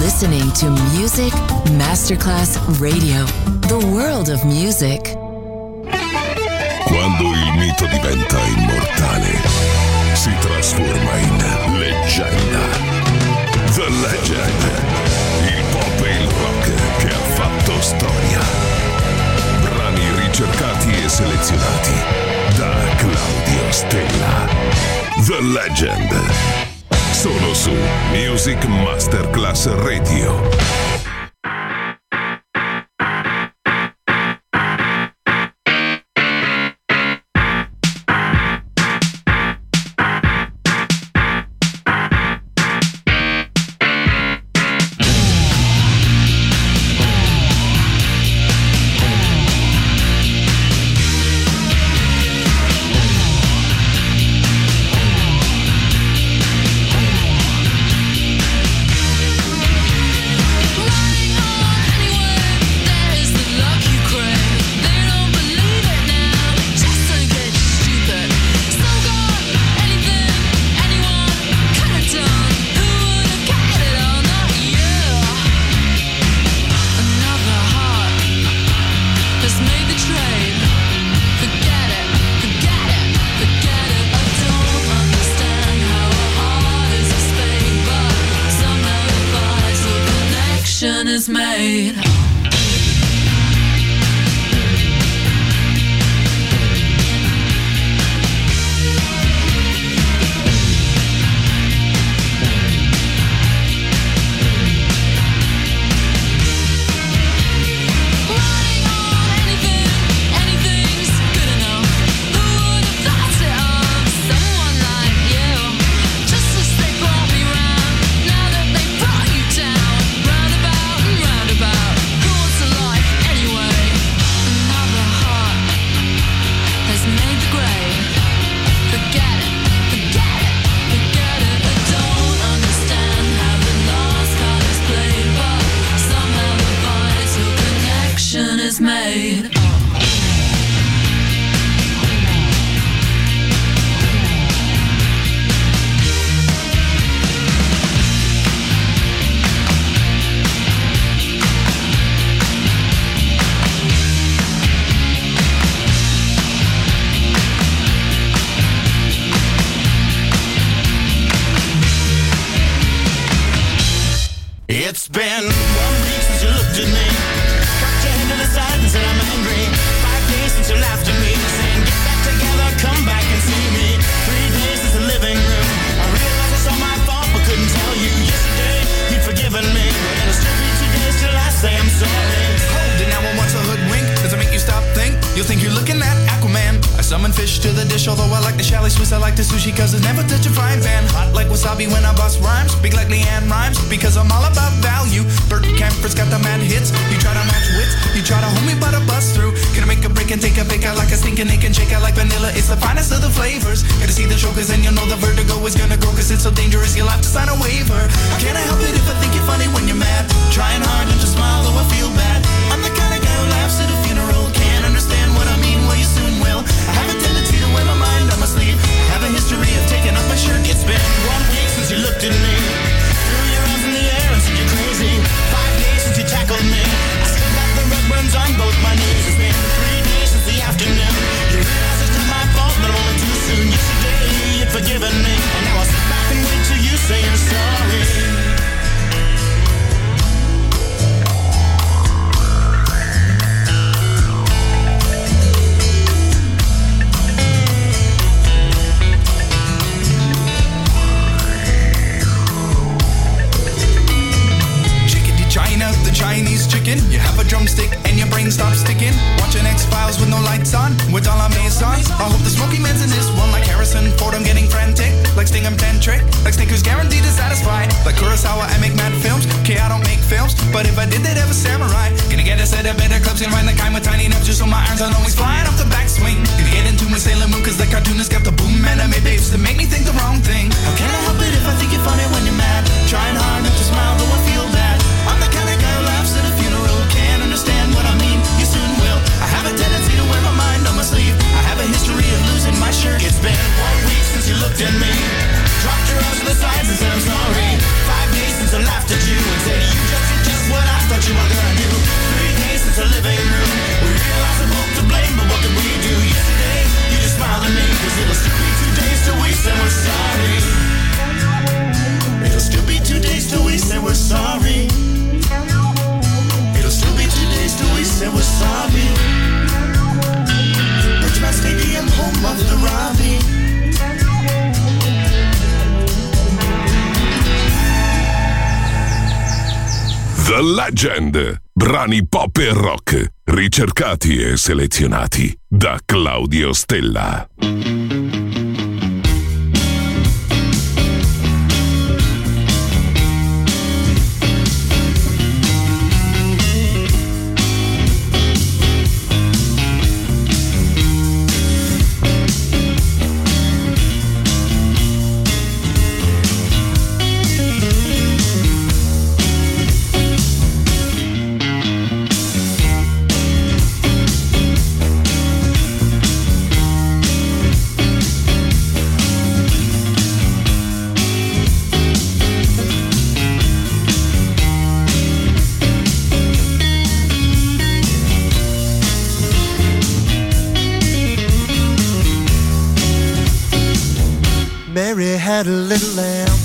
listening to Music Masterclass Radio, the world of music. Quando il mito diventa immortale, si trasforma in leggenda. The Legend, il pop e il rock che ha fatto storia. Brani ricercati e selezionati da Claudio Stella. The Legend. Solo su Music Masterclass Radio. Is made. Is made. It's been 1 week since you looked at me. And said I'm angry. 5 days since you laughed at me, saying get back together, come back and see me. 3 days since the living room. I realized it's all my fault, but couldn't tell you. Yesterday you'd forgiven me, and it's took me 2 days till I say I'm sorry. Hold it now, I want to hoodwink. Does it make you stop think? You'll think you're looking at Aquaman. I summon fish to the dish, although I like the chalet Swiss, I like the sushi, cause it's never touch a frying pan. Hot like wasabi when I bust rhymes, big like Leanne rhymes, because I'm all about value. Bert Camper's got the mad hits. You try to match wits, you try to hold me but I bust through. Gonna make a break and take a pick out like a stinking ache and shake out like vanilla. It's the finest of the flavors. Gotta see the show cause then you'll know the vertigo is gonna grow, cause it's so dangerous you'll have to sign a waiver. Can't I help it if I think you're funny when you're mad? Trying hard not to smile though I feel bad. I'm the kind of guy who laughs at a funeral. Can't understand what I mean, well you soon will. I have a tendency to wear my mind on my sleeve. I have a history of taking off my shirt. It's been 1 week since you looked at me. Threw your arms in the air and said you're crazy. 5 days since you tackled me. I still got the red burns on both my knees. It's been 3 days since the afternoon. You realize it's not my fault, but I'm only too soon. Yesterday you'd forgiven me, and now I sit back and wait till you say you're sorry. The Chinese chicken, you have a drumstick and your brain stops sticking. Watching X-Files with no lights on, with all our maison. I hope the Smoky Man's in this one, like Harrison Ford, I'm getting frantic. Like Sting, I'm tantric, like Snickers guaranteed to satisfy. Like Kurosawa, I make mad films, okay, I don't make films, but if I did, they'd have a samurai. Gonna get us at a better clubs, gonna find the kind with tiny enough just so my irons aren't always flying off the backswing. Gonna get into my Sailor Moon, cause the cartoonist got the boom anime babes to make me think the wrong thing. How can I help it if I think you're funny when you're mad? Trying hard not to smile, though I feel bad. I'm the kind of guy who laughs at a funeral. Can't understand what I mean, you soon will. I have a tendency to wear my mind on my sleeve. I have a history of losing my shirt. It's been 1 week since you looked at me. Dropped your arms to the sides and said I'm sorry. 5 days since I laughed at you and said you The Legend. Brani pop e rock, ricercati e selezionati da Claudio Stella. Mary had a little lamb.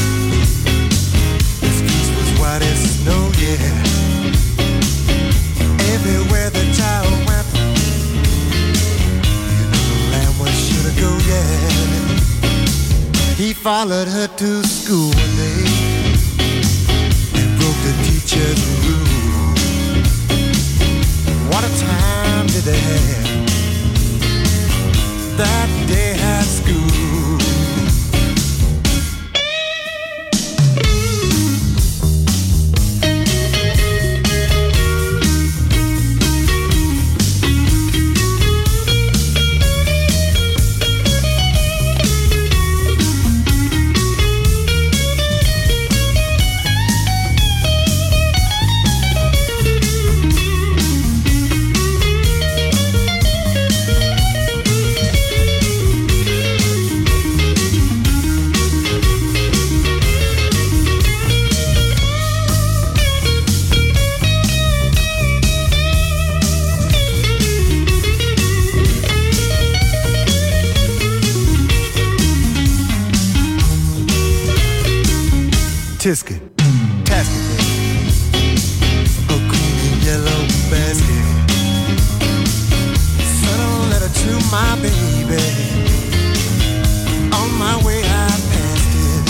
His fleece was white as snow, yeah. Everywhere the child went, you know the lamb was sure to go, yeah. He followed her to school one day and broke the teacher's rule. What a time did they have that day at school. Tisket, tasket, a green and yellow basket. Sent a letter to my baby. On my way I passed it.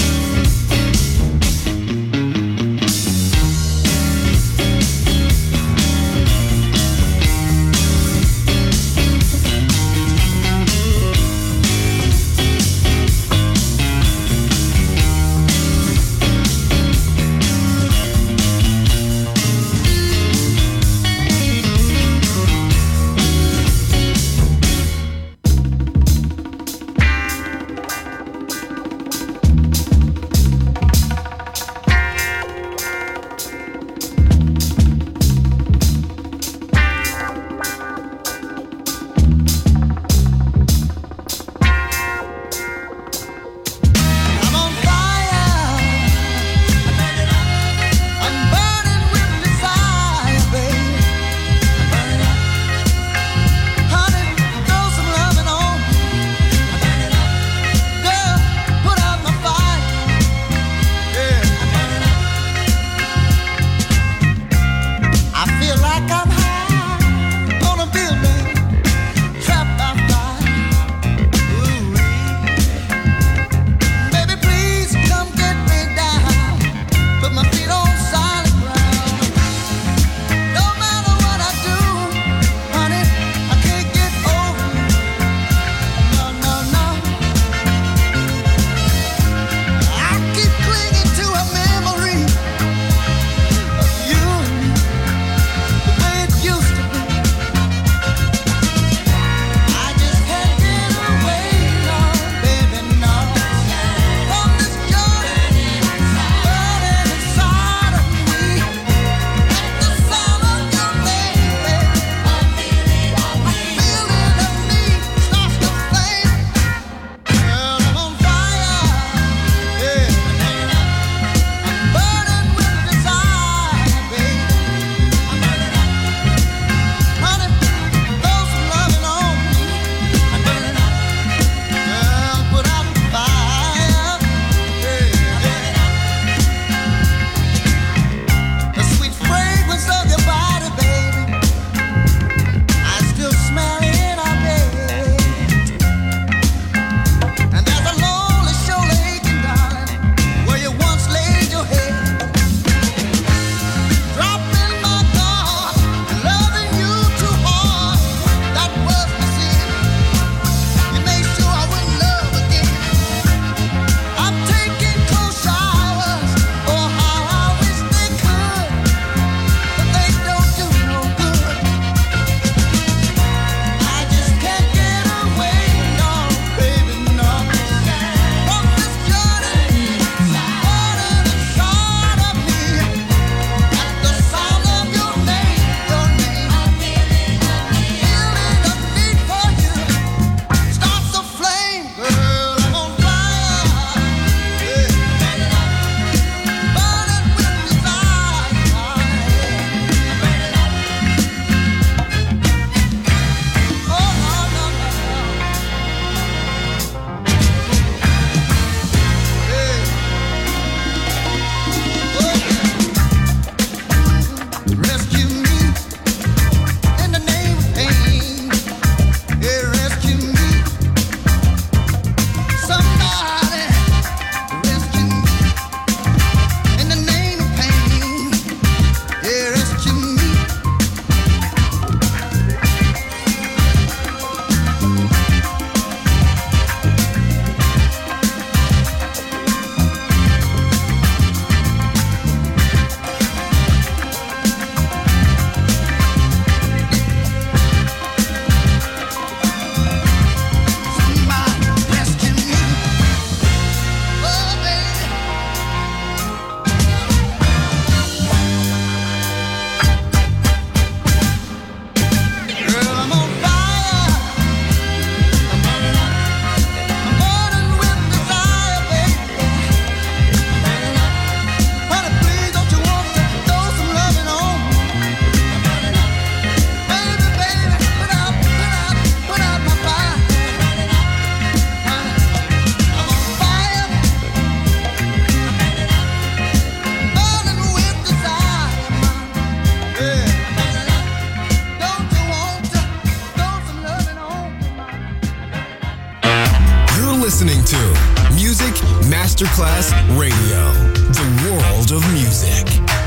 Masterclass Radio, the world of music.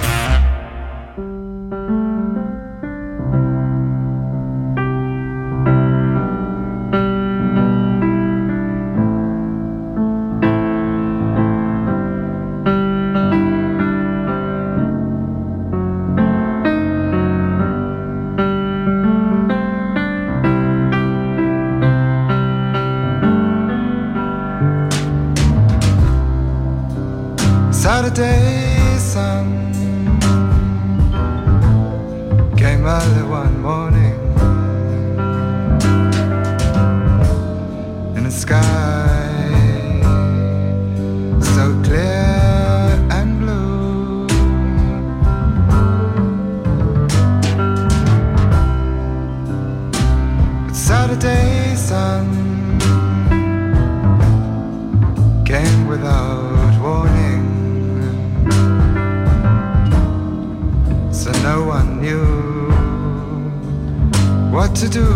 Saturday sun came early one morning in a sky so clear and blue. But Saturday sun came without warning. So no one knew what to do.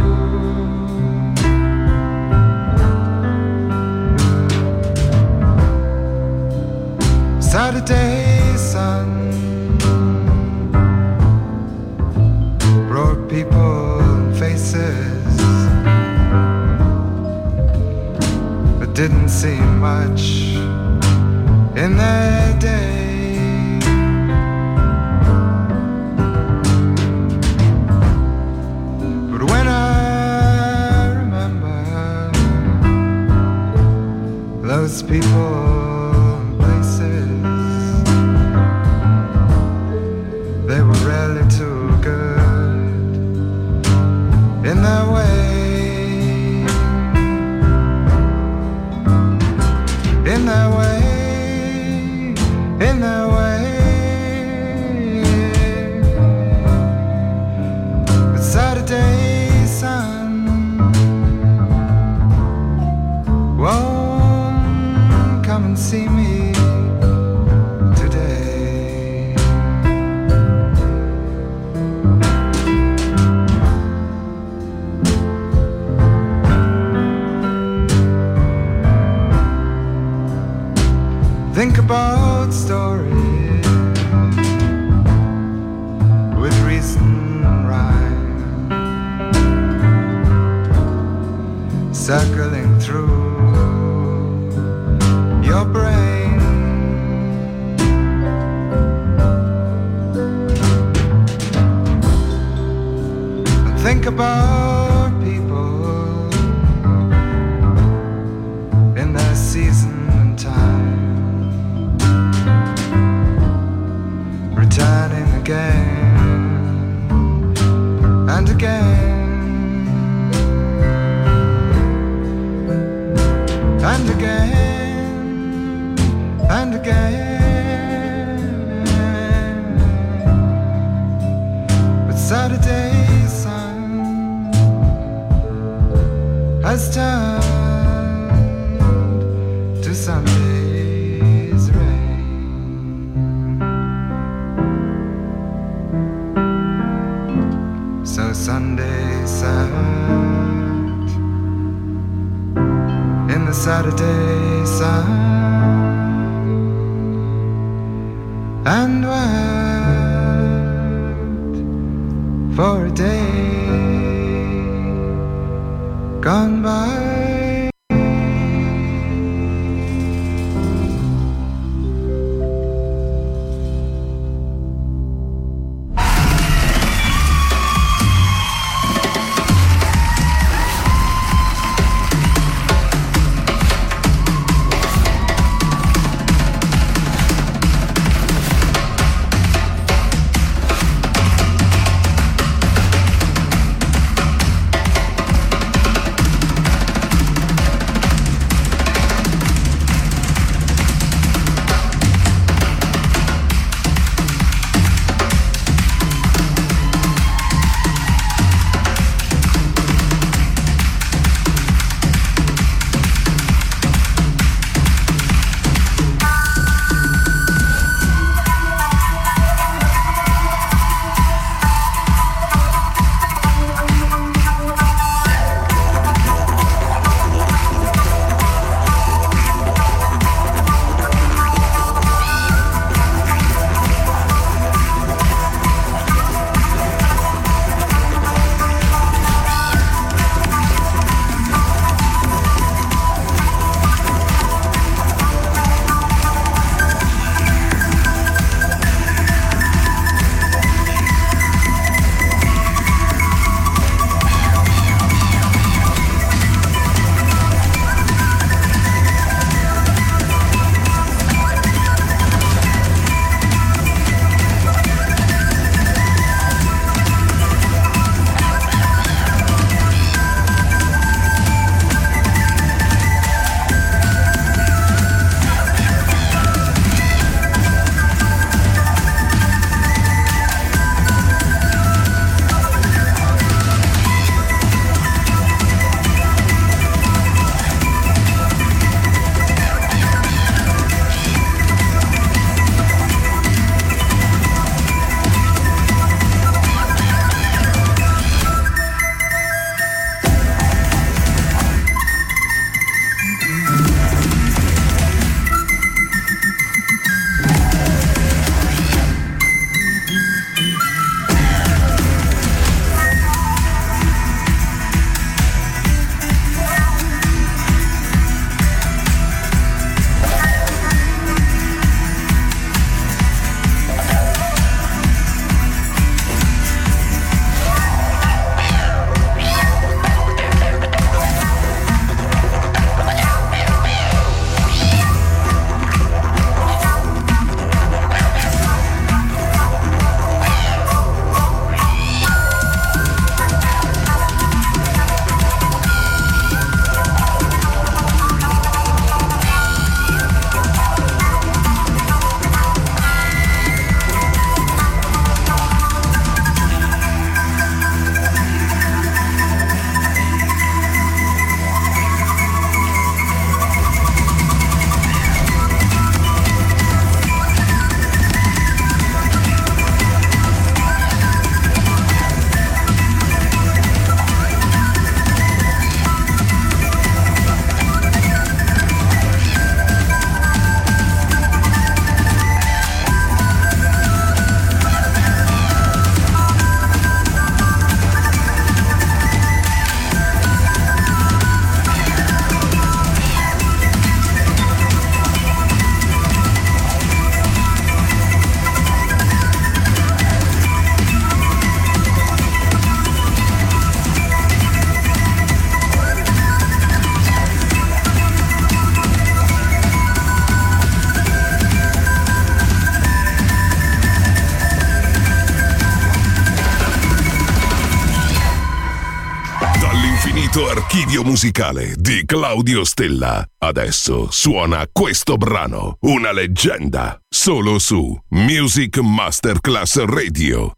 Saturday sun brought people and faces, but didn't seem much in their day. Those people and places, they were really too good in their way, in their way, in their way. But Saturday sun, whoa, come and see me today. Think about stories with reason and rhyme, circling through your brain. And think about people in their season and time, returning again and again and again and again. But Saturday sun has turned to Sunday's rain. So Sunday sat in the Saturday sun and wept for a day gone by. completo archivio musicale di Claudio Stella. Adesso suona questo brano, una leggenda, solo su Music Masterclass Radio.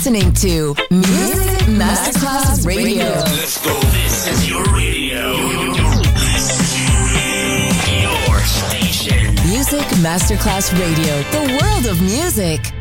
listening to Music Masterclass Radio. Let's go. This is your radio. Your station. Music Masterclass Radio. The world of music.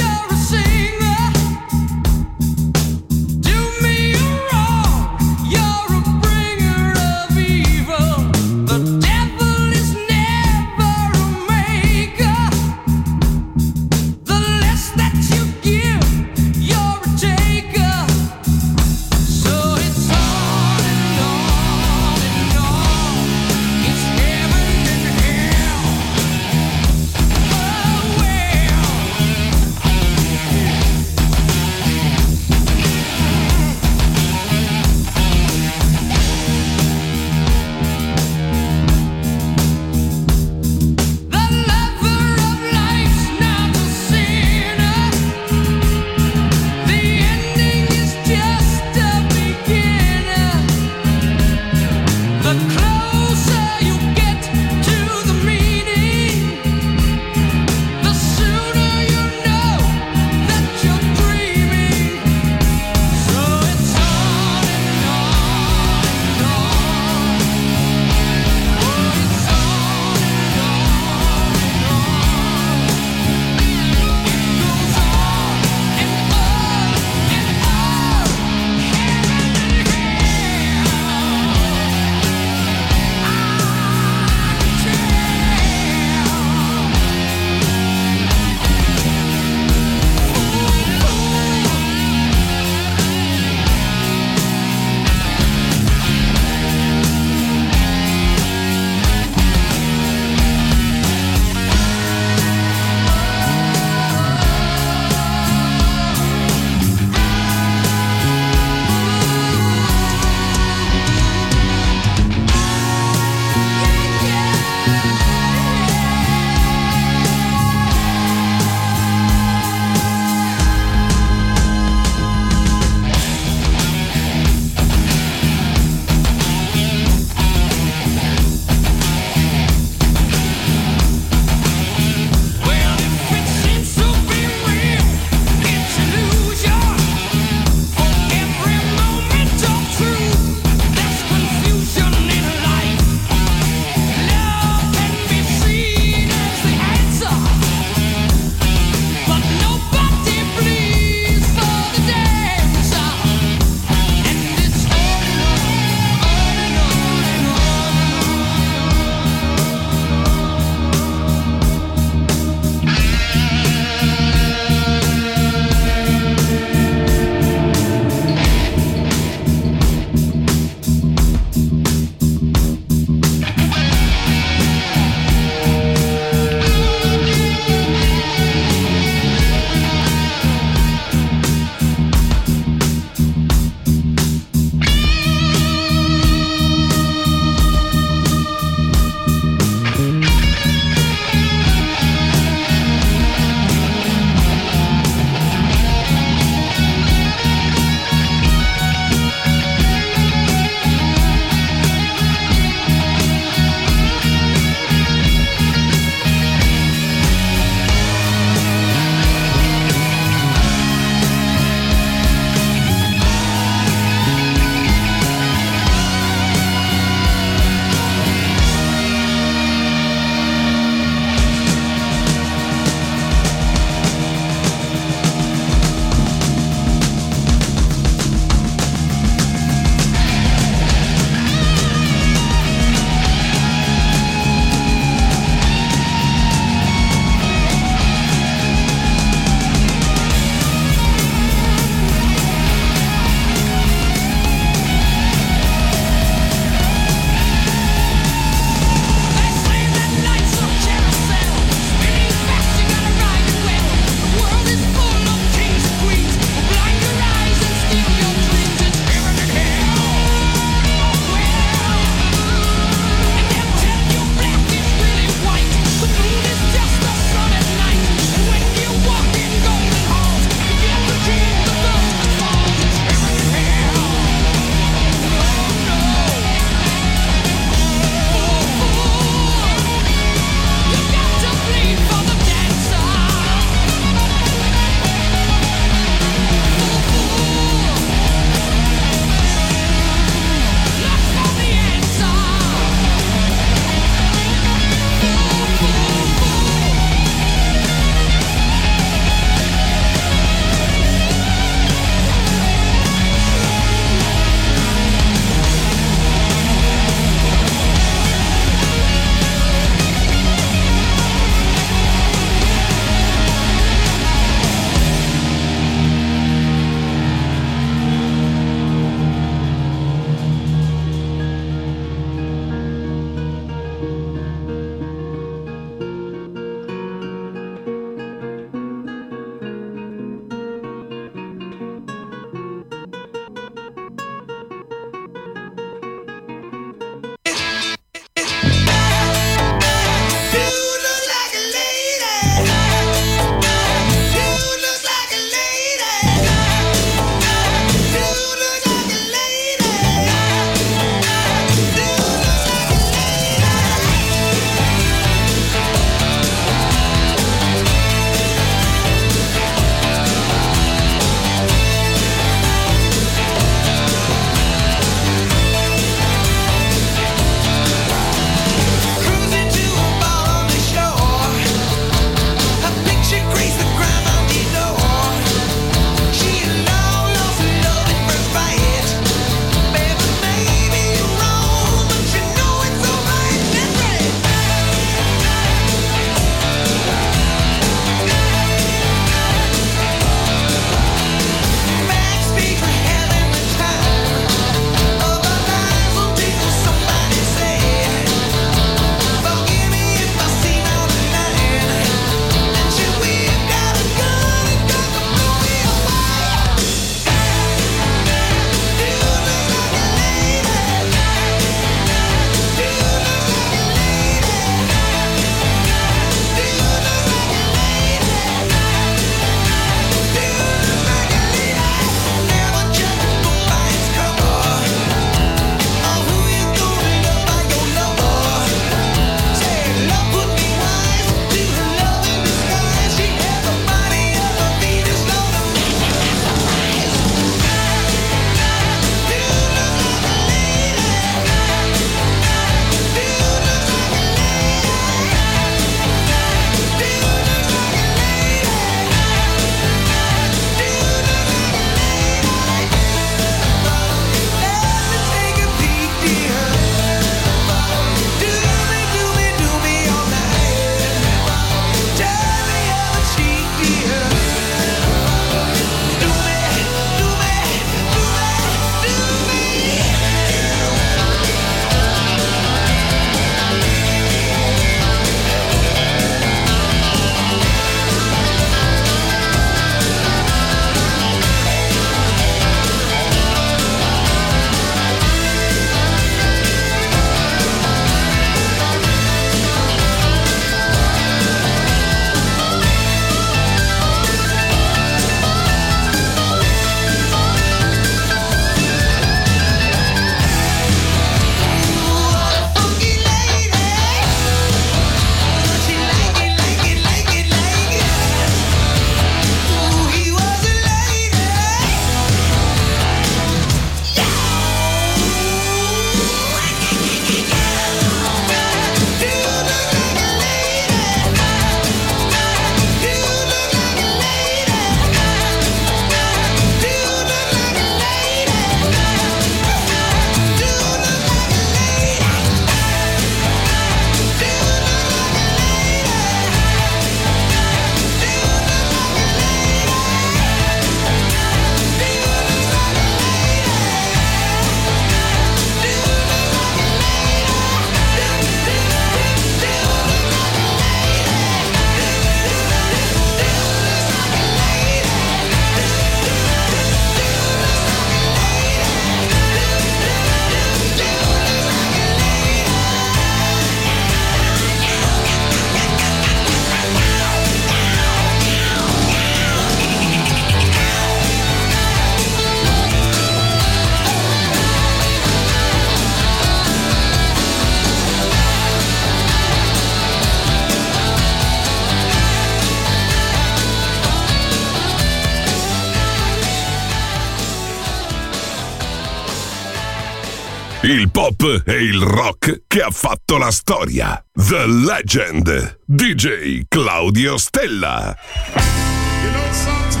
il pop e il rock che ha fatto la storia. The Legend, DJ Claudio Stella. You know, sometimes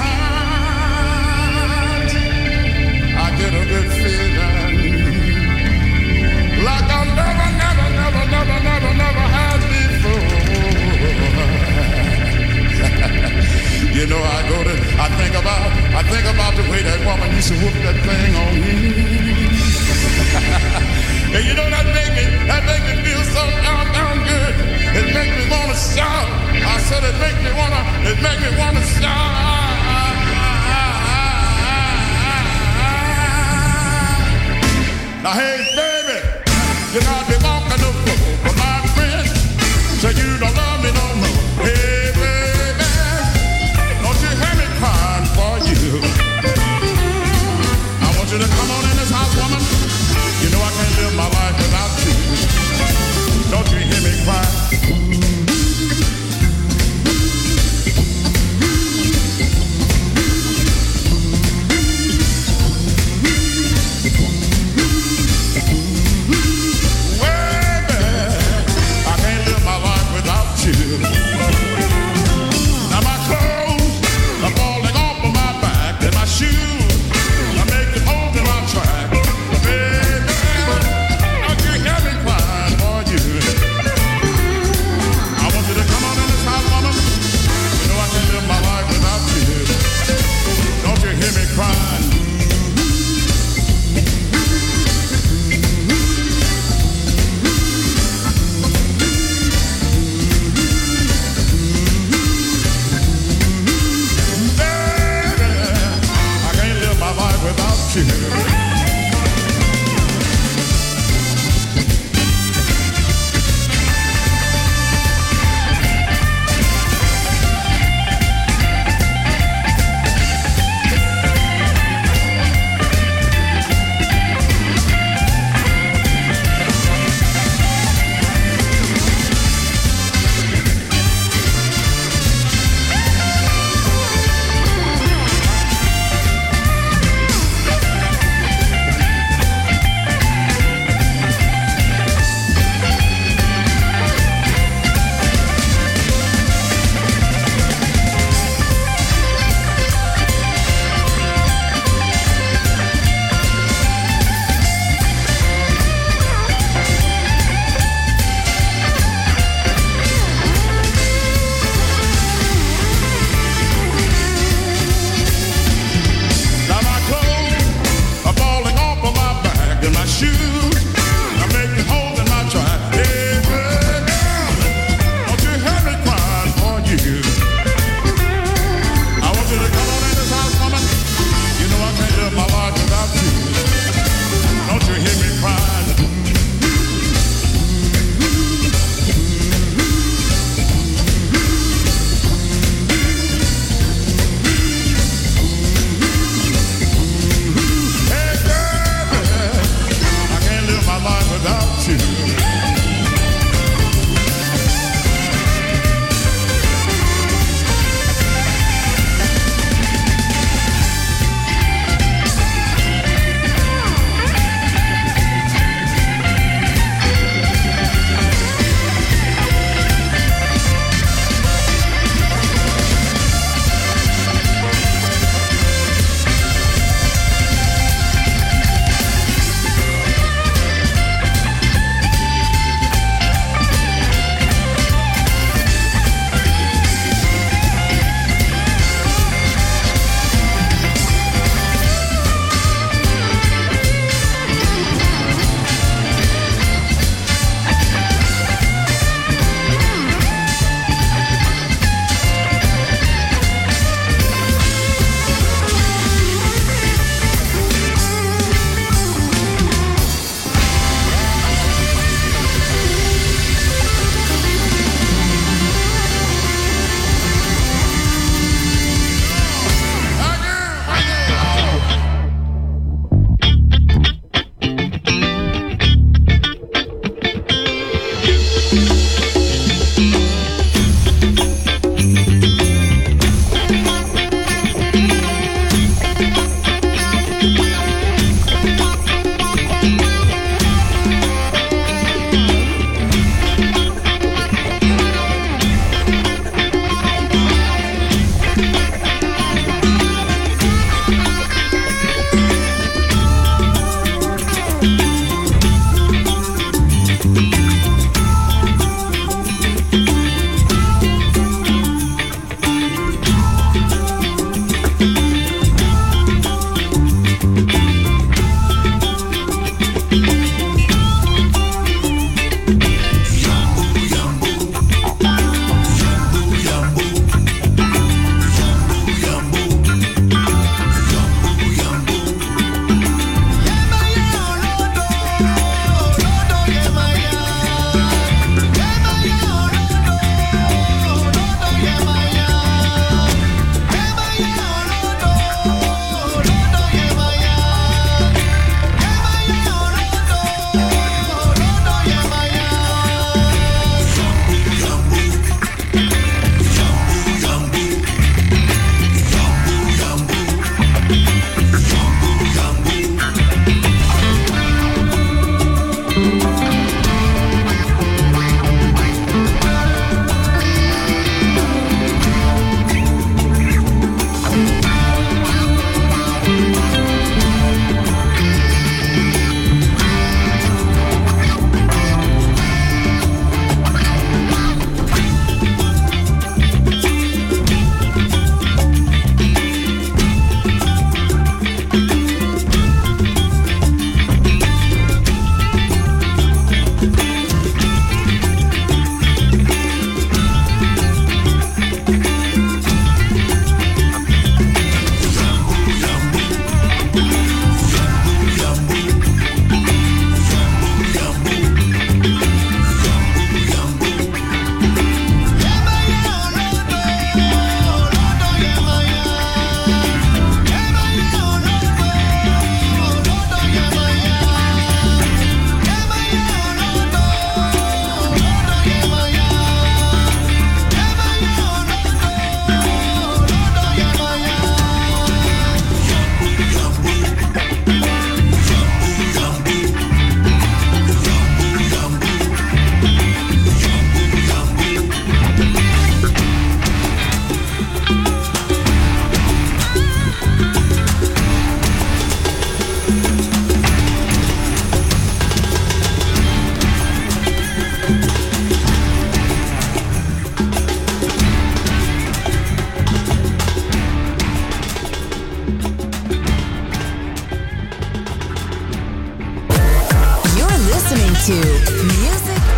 I get a good feeling like I never had before. You know, I think about the way that woman used to whoop that thing on me. And you know, that make me feel so down good. It make me wanna shout. I said it make me wanna shout. Now hey baby, you know I be walking the floor, but my friend said you don't love me no more. Hey baby, don't you hear me crying for you? I want you to come on in this house, woman. You know I can't live my life without you. Don't you hear me cry?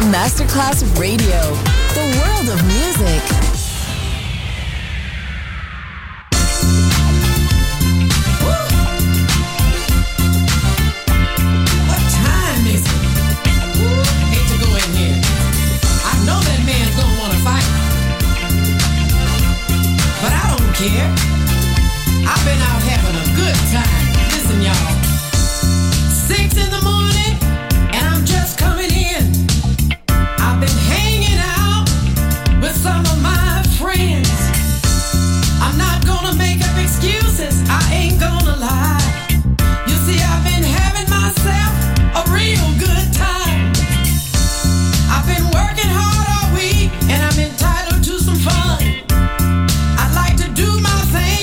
Masterclass Radio, the world of music. What time is it? Ooh, hate to go in here. I know that man's gonna wanna fight, but I don't care. I've been out having a good time. Listen, y'all. 6 in the morning, and I'm just coming in. I've been hanging out with some of my friends. I'm not gonna make up excuses, I ain't gonna lie. You see, I've been having myself a real good time. I've been working hard all week, and I'm entitled to some fun. I like to do my thing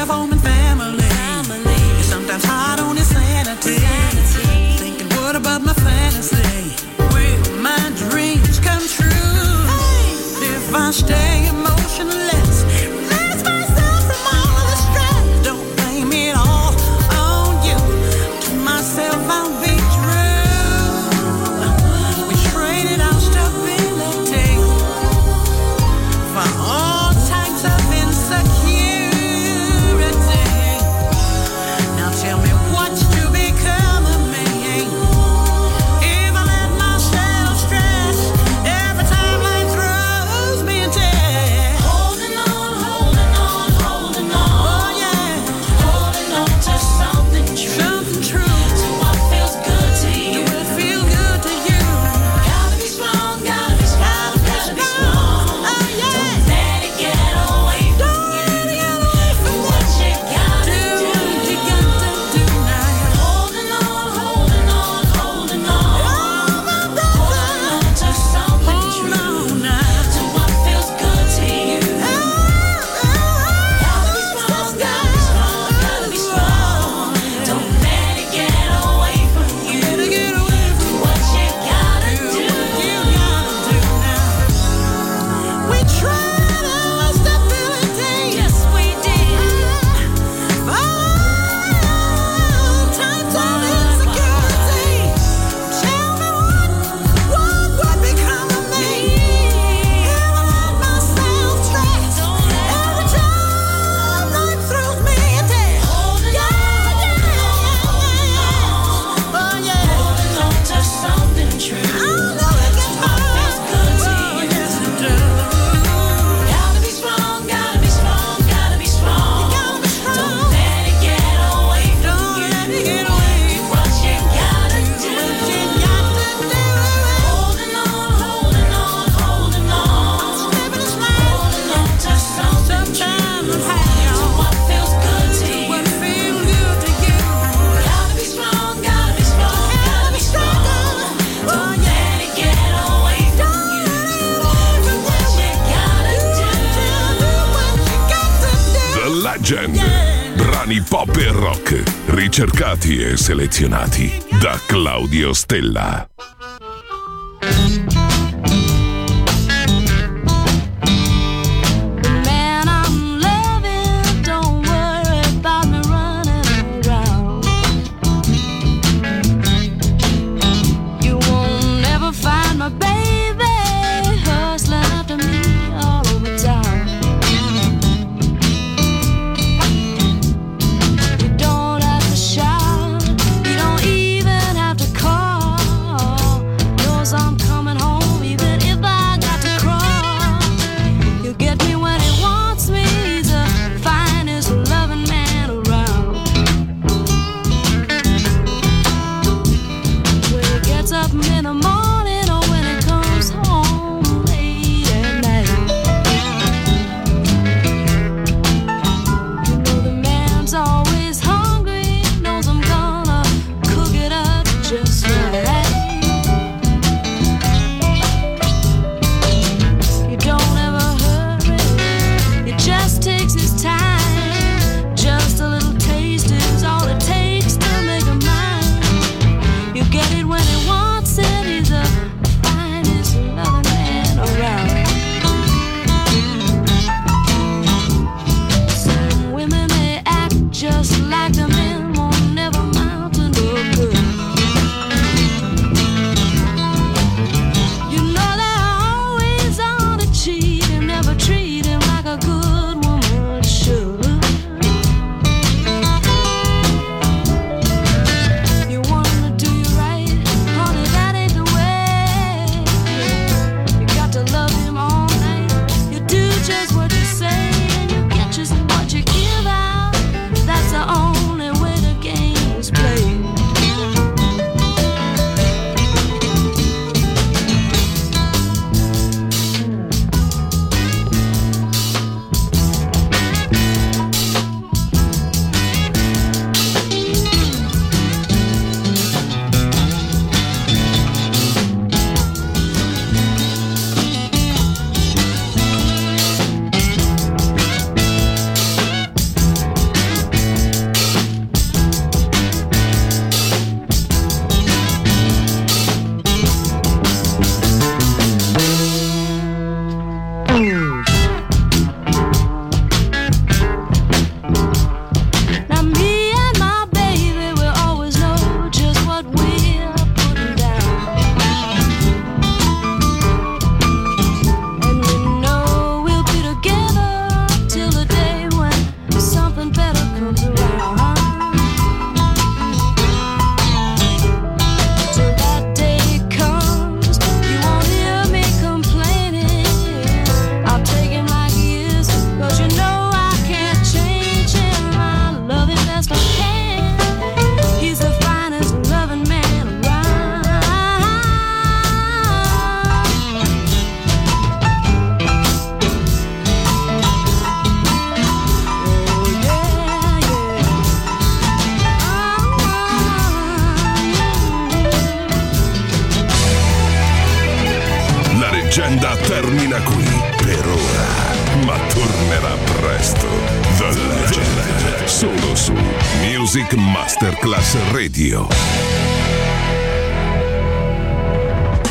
home and family. It's sometimes hard on his sanity. Thinking, what about my fantasy? Will my dreams come true? If I stay emotionless, release myself from all of the stress. Don't blame it all on you. To myself I'll be true. We traded our stability for all types of insecurity. Now tell me what's to become of me if I let myself stress every time life throws me a test. Holding on, holding on, holding on. Oh yeah, holding on to something true. Something true. To what feels good to you. To what feels good to you. Gotta be strong, gotta be strong, gotta be strong. Oh yeah. Don't let it get away from you. Do what you gotta do. You got to do now. Holding on, holding on, holding on. Holding on to something true. To what feels good to you. Gotta be strong, gotta be strong, gotta be strong. Don't let it get away from you. Do what you gotta do. We tried our stability. Yes, we did. All types of insecurity. Tell me what would become of me if I let myself stress every time life throws me a test. Holding on, oh yeah, holding on to something true. I know it gets hard. Feels good to you. Yes, it does. Gotta be strong, gotta be strong, gotta be strong. Gotta be strong. Don't let it get away from you. Don't let it get away. Do what you gotta do. Holding on, holding on, holding on. Slipping and sliding. Holding on to something true. To what feels good to you. What feels good to you. Gotta be strong, gotta be strong, gotta be strong. Don't let it get away from you. Do what you gotta do. The Legend. Brani pop e rock, ricercati e selezionati da Claudio Stella. Man I'm loving, don't worry about me running around. You won't ever find my baby hustling after me all over town. You don't have to shout, you don't even have to call. Knows I'm coming home even if I got to crawl. You get me when he wants me, he's the finest loving man around. When he gets up in the morning or when he comes home late at night. You know the man's always hungry, knows I'm gonna cook it up just right. You don't ever hurry, he just takes his time. Just a little taste is all it takes to make a mind. You get it when he wants it, he's the finest loving man around. Some women they act just like the men, won't never amount to no good. You know they're always on to cheat and never treat him like a good woman should. You want him to do you right, honey, that ain't the way. You got to love him all night. You do just what you say and you get just what you give out. That's the only way. comes around. Till that day comes, you won't hear me complaining. I'll take him like he is, 'cause you know I can't change him. I love him best I can. He's the finest loving man around. La leggenda termina qui per ora, ma tornerà presto. The Legend, solo su Music Masterclass Radio.